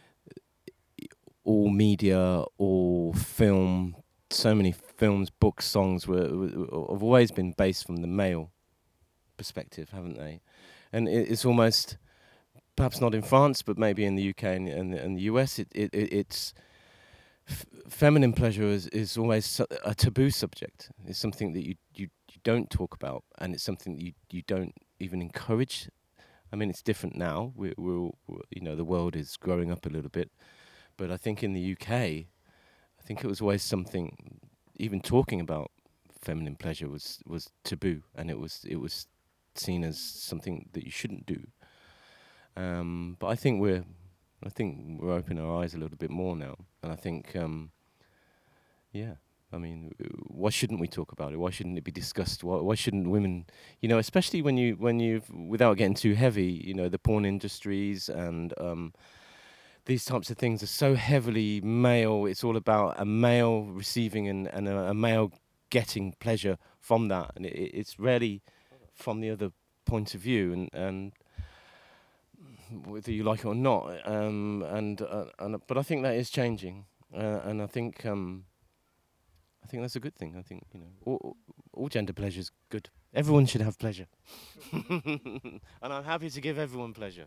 all media, all film, so many films, books, songs were, were have always been based from the male perspective, haven't they? And it, it's almost perhaps not in France, but maybe in the U K and, and, and the U S, it, it, it it's f- feminine pleasure is, is always su- a taboo subject. It's something that you, you you don't talk about, and it's something that you you don't even encourage. I mean, it's different now. We're, we're, all, we're you know the world is growing up a little bit, but I think in the U K, I think it was always something. Even talking about feminine pleasure was was taboo, and it was it was seen as something that you shouldn't do. Um, but I think we're I think we're opening our eyes a little bit more now, and I think um, yeah. I mean, why shouldn't we talk about it? Why shouldn't it be discussed? Why, why shouldn't women, you know, especially when you when you've, without getting too heavy, you know, the porn industries and um, these types of things are so heavily male. It's all about a male receiving and, and a, a male getting pleasure from that, and it, it's rarely from the other point of view, and and whether you like it or not. Um, and uh, and but I think that is changing, uh, and I think. Um, I think that's a good thing. I think, you know, all, all gender pleasure is good. Everyone should have pleasure. And I'm happy to give everyone pleasure.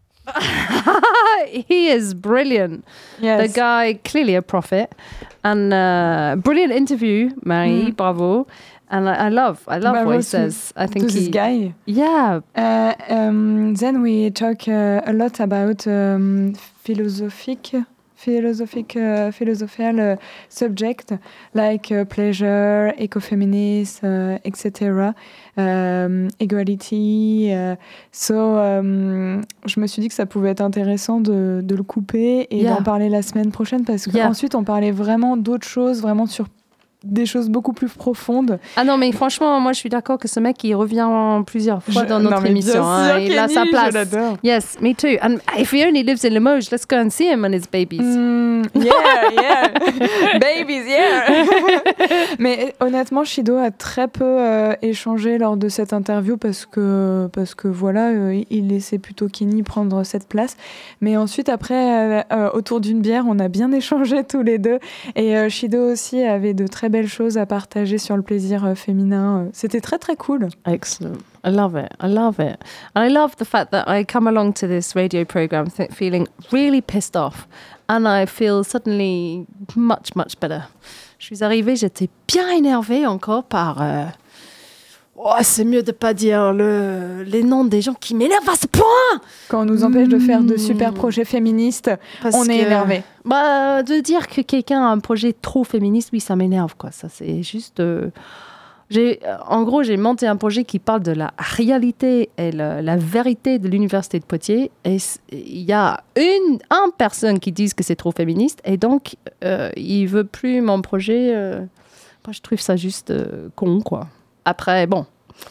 He is brilliant. Yes. The guy, clearly a prophet. And uh, brilliant interview, Marie. Mm. Bravo. And I, I love, I love Bravo what he to, says. I think to he, this guy. Yeah. Uh, um, then we talk uh, a lot about um, philosophic philosophic, uh, philosophical uh, subject like uh, pleasure, ecofeminist, uh, et cetera, um, equality. Uh, so, um, je me suis dit que ça pouvait être intéressant de, de le couper et yeah. d'en parler la semaine prochaine parce qu'ensuite yeah. on parlait vraiment d'autres choses, vraiment sur des choses beaucoup plus profondes. Ah non, mais franchement, moi je suis d'accord que ce mec il revient plusieurs fois je, dans notre non, émission. Hein, sûr, il a sa place. Je l'adore. Yes, me too. And if he only lives in Limoges, let's go and see him and his babies. Mm, yeah, yeah. Babies, yeah. Mais honnêtement, Shido a très peu euh, échangé lors de cette interview parce que, parce que voilà, euh, il laissait plutôt Kenny prendre cette place. Mais ensuite, après, euh, euh, autour d'une bière, on a bien échangé tous les deux. Et euh, Shido aussi avait de très belles choses à partager sur le plaisir euh, féminin. C'était très très cool. Excellent. I love it. I love it. And I love the fact that I come along to this radio program th- feeling really pissed off. And I feel suddenly much, much better. Je suis arrivée, j'étais bien énervée encore par... Euh, oh, c'est mieux de pas dire le, les noms des gens qui m'énervent à ce point. Quand on nous empêche mmh. de faire de super projets féministes, Parce on est que, énervé. Bah, de dire que quelqu'un a un projet trop féministe, oui, ça m'énerve, quoi. Ça, c'est juste... Euh, j'ai, en gros, j'ai monté un projet qui parle de la réalité et la, la vérité de l'université de Poitiers. Et il y a une, une personne qui dit que c'est trop féministe. Et donc, euh, il ne veut plus mon projet. Euh, moi, je trouve ça juste euh, con, quoi. Après, bon,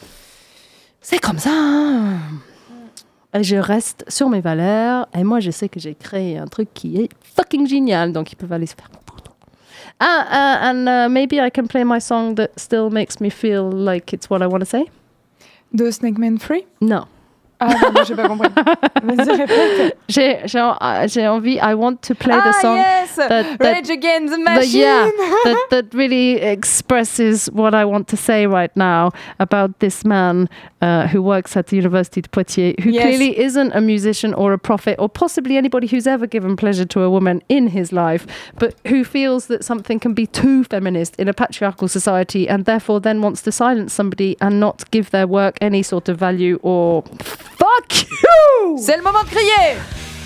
c'est comme ça. Hein. Et je reste sur mes valeurs. Et moi, je sais que j'ai créé un truc qui est fucking génial. Donc, ils peuvent aller se faire... Ah, uh, and uh, maybe I can play my song that still makes me feel like it's what I want to say. De Snake Man Free? No. Ah, non, j'ai pas compris. Vas-y, répète. J'ai, j'ai, j'ai envie, I want to play the ah, song. Yes! That, that, Rage Against the Machine! That, yeah, that, that really expresses what I want to say right now about this man uh, who works at the University of Poitiers, who yes. clearly isn't a musician or a prophet, or possibly anybody who's ever given pleasure to a woman in his life, but who feels that something can be too feminist in a patriarchal society and therefore then wants to silence somebody and not give their work any sort of value or... Fuck you! C'est le moment de crier!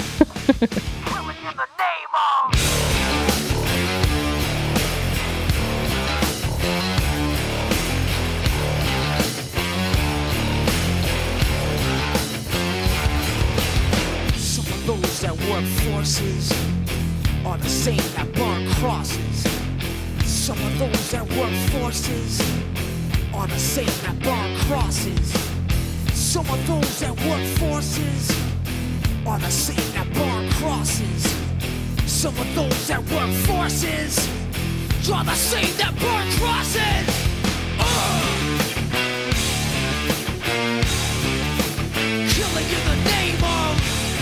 Some of those that work forces are the same that burn crosses. Some of those that work forces are the same that burn crosses. Some of those that work forces are the same that burn crosses. Some of those that work forces are the same that burn crosses. Uh! Killing in the name of.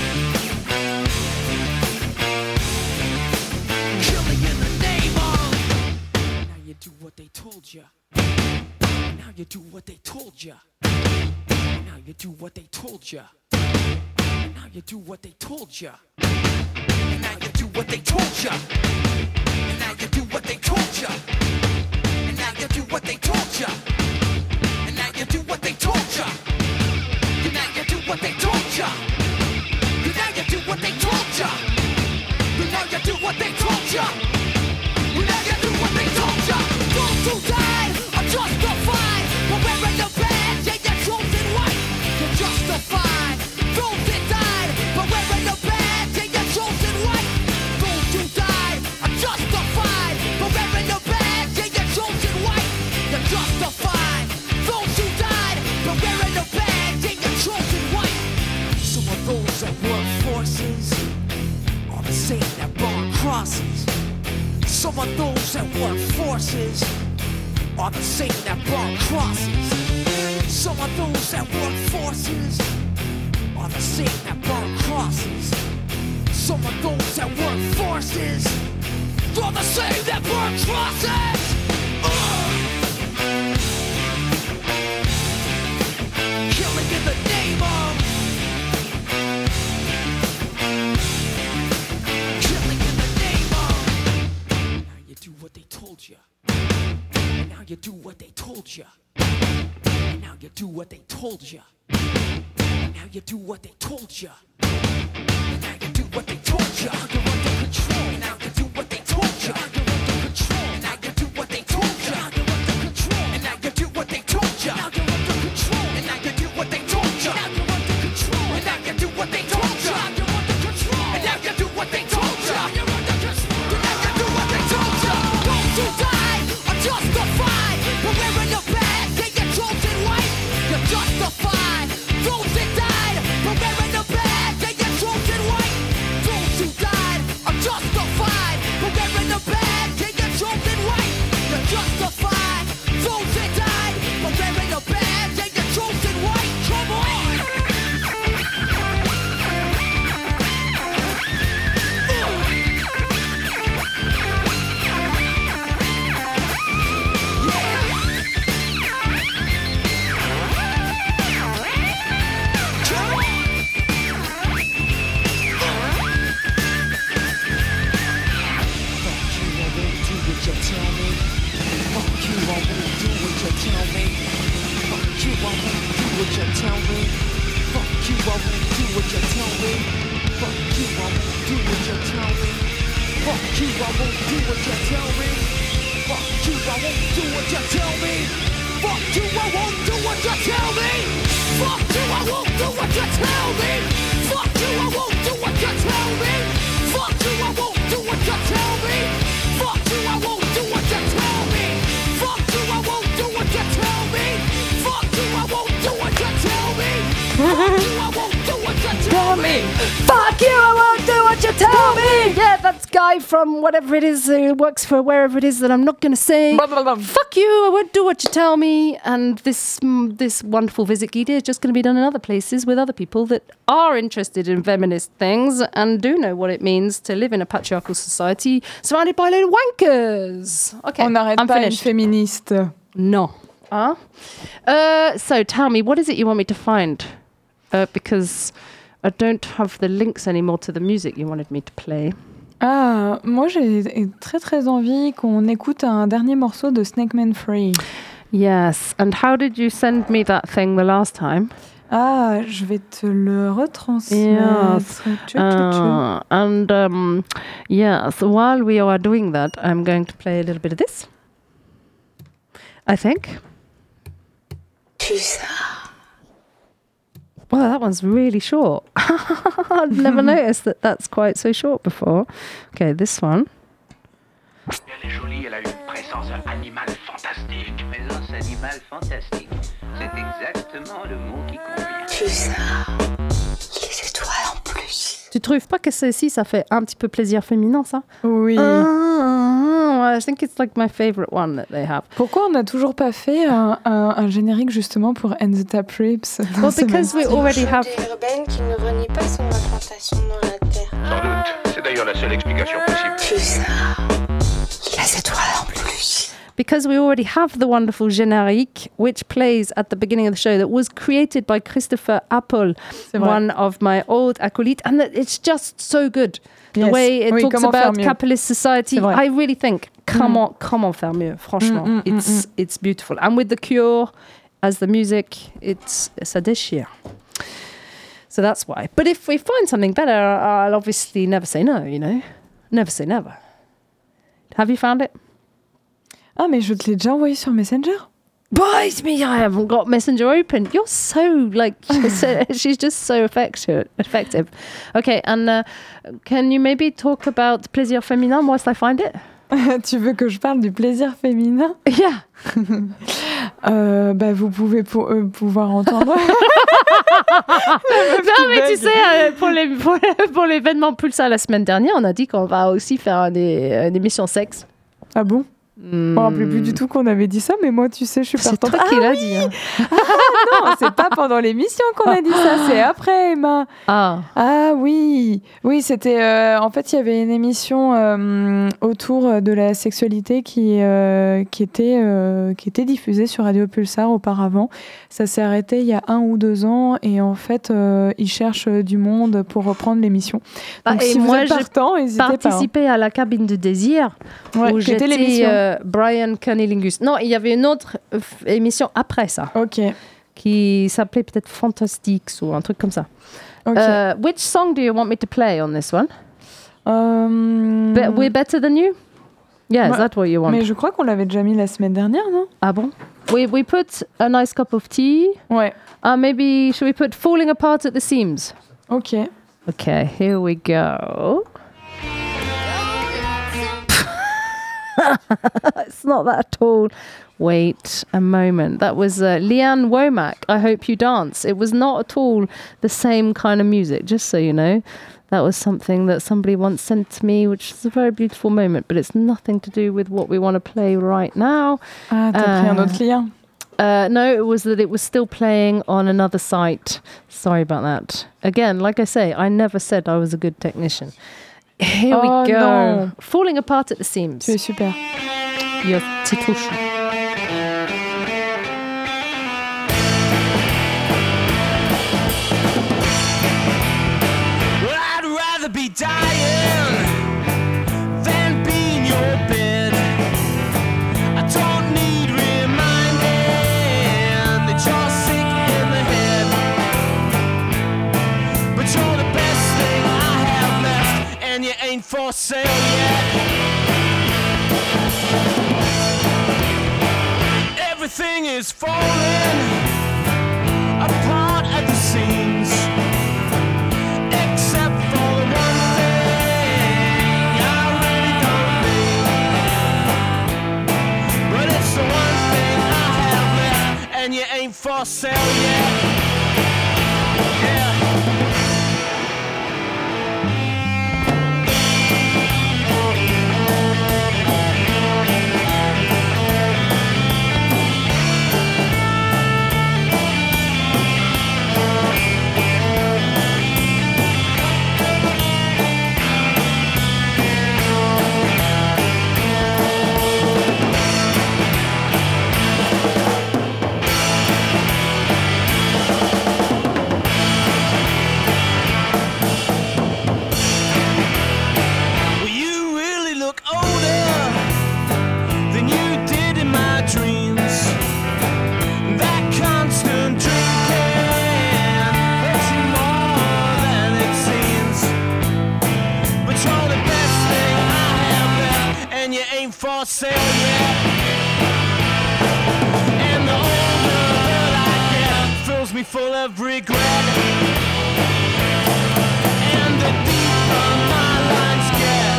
Killing in the name of. Now you do what they told you. Now you do what they told you. Now you do what they told you. And now you do what they told you. And now you do what they told you. And now you do what they told you. And now you do what they told you. And now you do what they told you. And now you do what they told you. And now you do what they told you. And now you do what they told you. crosses. Some of those that work forces are the same that burn crosses. Some of those that work forces are the same that burn crosses. Some of those that work forces are the same that burn crosses. Uh! Killing in the name of. Killing in the name of. Now you do what they told you. And now you do what they told you. And now you do what they told you. And now you do what they told you. And now you do what they told you. You're under control. And now you do what they told you. You're under control. And now you do what they told you. You're under control. And now you do what they told you. You're under control. And now you do what they told you. You're under control. And now you do what they told you. You're under control. And now you do what they told you. You're under control. And now you do what they told you. Those who died are justified for wearing the badge. They get chosen white. You're justified. Those that died for wearing the badge. They get chosen white. Those who died are justified for wearing the badge. They get chosen white. You're justified. Those that died for wearing the badge. They get chosen white. Come on. Fuck you, I won't do what you tell me. Yeah, that's Guy from whatever it is who works for wherever it is that I'm not going to say. Blah, blah, blah. Fuck you, I won't do what you tell me. And this mm, this wonderful Visit Guide is just going to be done in other places with other people that are interested in feminist things and do know what it means to live in a patriarchal society surrounded by little wankers. Okay, On n'arrête I'm pas finished. une féministe. No. Huh? Uh, so tell me, what is it you want me to find? Uh, because I don't have the links anymore to the music you wanted me to play. Ah, moi j'ai très très envie qu'on écoute un dernier morceau de Snake Man Free. Yes, and how did you send me that thing the last time? Ah, je vais te le retransmettre. Yes. Tchou, tchou, tchou. Uh, and um, yeah, so while we are doing that, I'm going to play a little bit of this. I think. Well, that one's really short. I've never noticed that that's quite so short before. Okay, this one. Elle est jolie, elle a une présence animale fantastique. Présence animale fantastique. C'est exactement le mot qui convient. Les étoiles en plus. Tu trouves pas que ceci, ça fait un petit peu plaisir féminin, ça? Oui. Ah, I think it's like my favorite one that they have. Pourquoi on n'a toujours pas fait un, un, un générique justement pour End the Tap Rips? Well, because we already have... urbaine qui ne renie pas son implantation dans la Terre. Sans doute. C'est d'ailleurs la seule explication possible. Les étoiles en plus. Because we already have the wonderful générique, which plays at the beginning of the show, that was created by Christopher Apple, one of my old acolytes, and that it's just so good. The Yes. way it Oui, talks comment faire about mieux. capitalist society, I really think, comment, mm. comment faire mieux, franchement. Mm, mm, it's mm, mm. it's beautiful. And with The Cure as the music, it's, ça déchire. So that's why. But if we find something better, I'll obviously never say no, you know? Never say never. Have you found it? Ah, mais je te l'ai déjà envoyé sur Messenger. Bite me, I haven't got Messenger open. You're so, like, so, she's just so effective. effective. Okay, and uh, can you maybe talk about Plaisir Féminin whilst I find it? Tu veux que je parle du plaisir féminin? Yeah. euh, bah, vous pouvez pour, euh, pouvoir entendre. Non, mais tu sais, euh, pour, les, pour, pour l'événement Pulsar la semaine dernière, on a dit qu'on va aussi faire une, une émission sexe. Ah bon? Hmm. Je me rappelais plus du tout qu'on avait dit ça, mais moi, tu sais, je suis C'est partante. toi qui Ah l'as oui. dit. Hein. Ah non, c'est pas pendant l'émission qu'on a dit ça, c'est après, Emma. Ah. Ah oui, oui, c'était. Euh, en fait, il y avait une émission euh, autour de la sexualité qui euh, qui était euh, qui était diffusée sur Radio Pulsar auparavant. Ça s'est arrêté il y a un ou deux ans, et en fait, euh, ils cherchent du monde pour reprendre l'émission. Donc, Bah, et si moi, vous êtes partant, n'hésitez pas. J'ai participé à la cabine de désir, Ouais, où qui était j'étais l'émission. euh, Brian Cunnilingus. Non, il y avait une autre euh, f- émission après ça. Ok. Qui s'appelait peut-être Fantastics ou un truc comme ça. Ok. Uh, which song do you want me to play on this one? Euh, Be- We're Better Than You? Yeah, is Ouais. that what you want? Mais je crois qu'on l'avait déjà mis la semaine dernière, non? Ah bon? We, we put A Nice Cup of Tea. Ouais. Uh, maybe, should we put Falling Apart at the Seams? Ok. Okay, here we go. It's not that at all. Wait a moment. That was uh, Leanne Womack, I Hope You Dance. It was not at all the same kind of music, just so you know. That was something that somebody once sent to me, which is a very beautiful moment, but it's nothing to do with what we want to play right now. Ah, t'as pris un Uh, autre lien. Uh, no, it was that it was still playing on another site. Sorry about that. Again, like I say, I never said I was a good technician. Here Oh, we go. non. Falling Apart at the Seams. Tu es super. Your titouche. Well, I'd rather be dying than be in your bed. I don't need reminding that you're sick in the head. But you're the best thing I have left, and you ain't for sale yet. Everything is falling apart at the seams. Except for the one thing I really don't need. But it's the one thing I have left, and you ain't for sale yet. Yeah. Well, you really look older than you did in my dreams. That constant drinking hurts you more than it seems. But you're the best thing I have left, and you ain't for sale yet. And the older that I get fills me full of regret. And the deeper my lines get.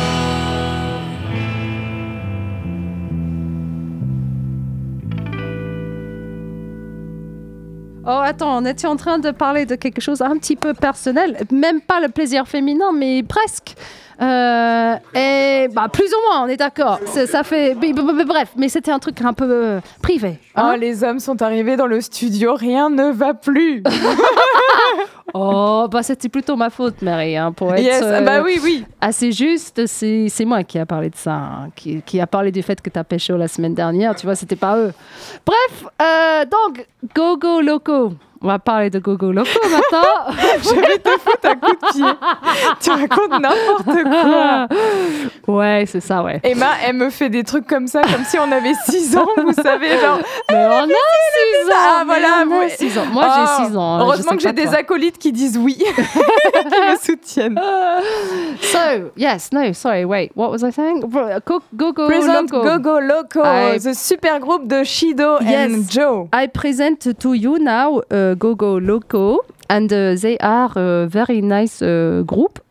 Oh, attends, on était en train de parler de quelque chose un petit peu personnel. Même pas le plaisir féminin, mais presque. Euh, et bah, plus ou moins, on est d'accord. C'est- Ça fait. b- b- b- Bref, mais c'était un truc un peu euh, privé. hein. Oh, les hommes sont arrivés dans le studio, rien ne va plus. Oh, bah c'était plutôt ma faute, Mary. Hein, pour être Yes, euh, bah oui, oui. assez juste, c'est c'est moi qui a parlé de ça, hein, qui, qui a parlé du fait que tu as pécho la semaine dernière. Tu vois, c'était pas eux. Bref, euh, donc, Gogo Loco. On va parler de Gogo Loco maintenant. Je vais te foutre un coup de pied. Tu racontes n'importe quoi. Ouais, c'est ça, ouais. Emma, elle me fait des trucs comme ça, comme si on avait six ans, vous savez, genre. Mais on a six ans. Ah, mais voilà, on a ouais. six ans. Moi, Oh, j'ai six ans. hein, je Heureusement sais que j'ai pas des toi. acolytes qui disent oui, qui me soutiennent. So, yes, no, sorry, wait, what was I saying? Go- Gogo Present Loco. Gogo Loco, I- the super group de Shido Yes. and Joe. I present to you now uh, Gogo Loco, and uh, they are a very nice uh, group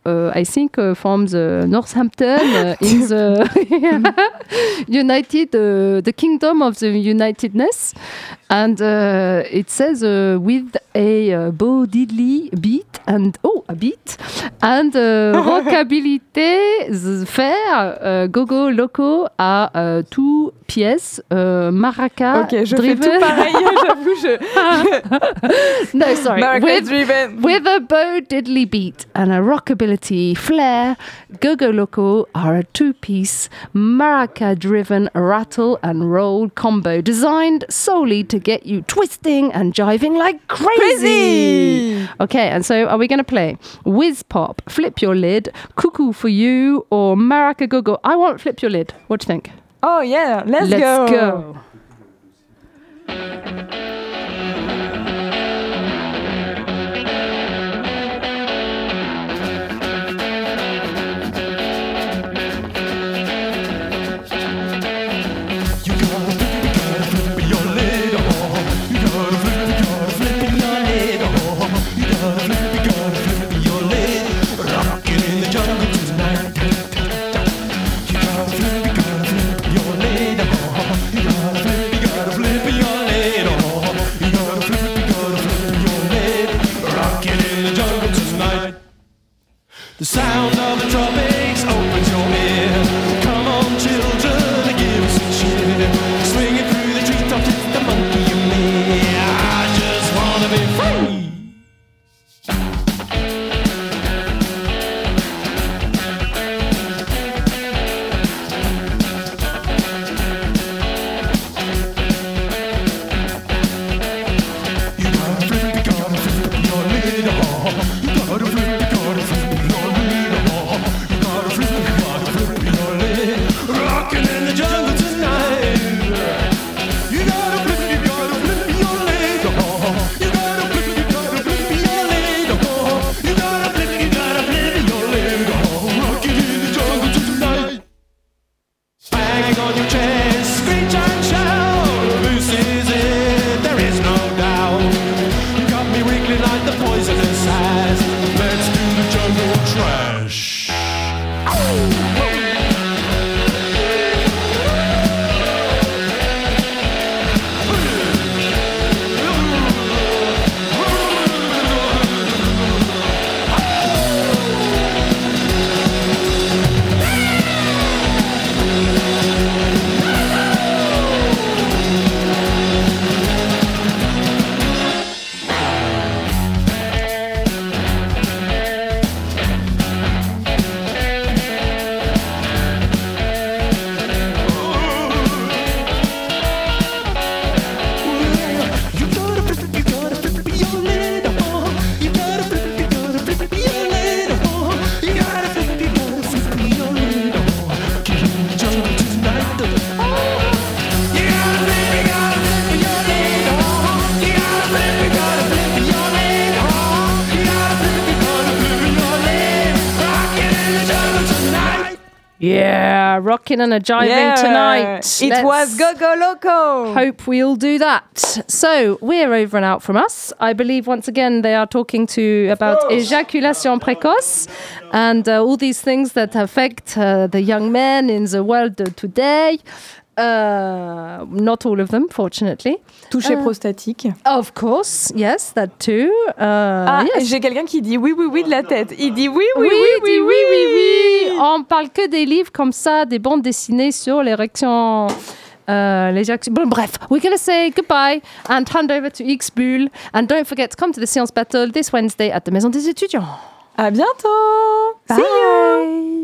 uh, I think, uh, from the Northampton uh, in the United, uh, the Kingdom of the Unitedness. And uh, it says uh, with a uh, Bo Diddley beat and oh a beat and uh, rockabilité faire uh, Gogo Loco à uh, two pièces uh, maraca Ok, je driven. fais tout pareil, j'avoue. Je... No, sorry. Maraca With, driven. with a Bo Diddley beat and a rockabilly flair, Gogo Loco are a two-piece maraca-driven rattle and roll combo designed solely to get you twisting and jiving like crazy. Crazy! Okay, and so are we going to play Whiz Pop, Flip Your Lid, Cuckoo for You, or Maraca Gogo? I want Flip Your Lid. What do you think? Oh yeah, let's, Let's go. go. The sound of the tropics opens your ear. Come on, children, give us a cheer. Swinging through the treetops, it's the monkey and me. I just wanna be free. You gotta flip, you gotta flip your lid off. You gotta flip, you gotta flip. Rockin' in the jungle tonight. You gotta flip, you gotta flip your lid. You gotta flip, you gotta flip your lid. You gotta flip, you gotta flip your lid. Rockin' in the jungle tonight. Bang on your chest, screech and shout. This is it, there is no doubt. You got me wriggling like the poisonous eyes. Let's do the jungle trash. Yeah, rocking and a jiving Yeah, tonight. It Let's was Gogo Loco. Hope we all do that. So we're over and out from us. I believe once again they are talking to about ejaculation précoce and uh, all these things that affect uh, the young men in the world today. Uh, not all of them, fortunately. Toucher Uh, prostatique. Of course, yes, that too. Uh, Ah, yes. j'ai quelqu'un qui dit oui, oui, oui de la tête. Il dit oui, oui, Oui, oui, oui, dis oui, oui, oui, oui. On parle que des livres comme ça, des bandes dessinées sur l'érection. Uh, l'éjaculation. Bon, bref, we're going to say goodbye and hand over to X-Bull. And don't forget to come to the Science Battle this Wednesday at the Maison des Étudiants. À bientôt. See you.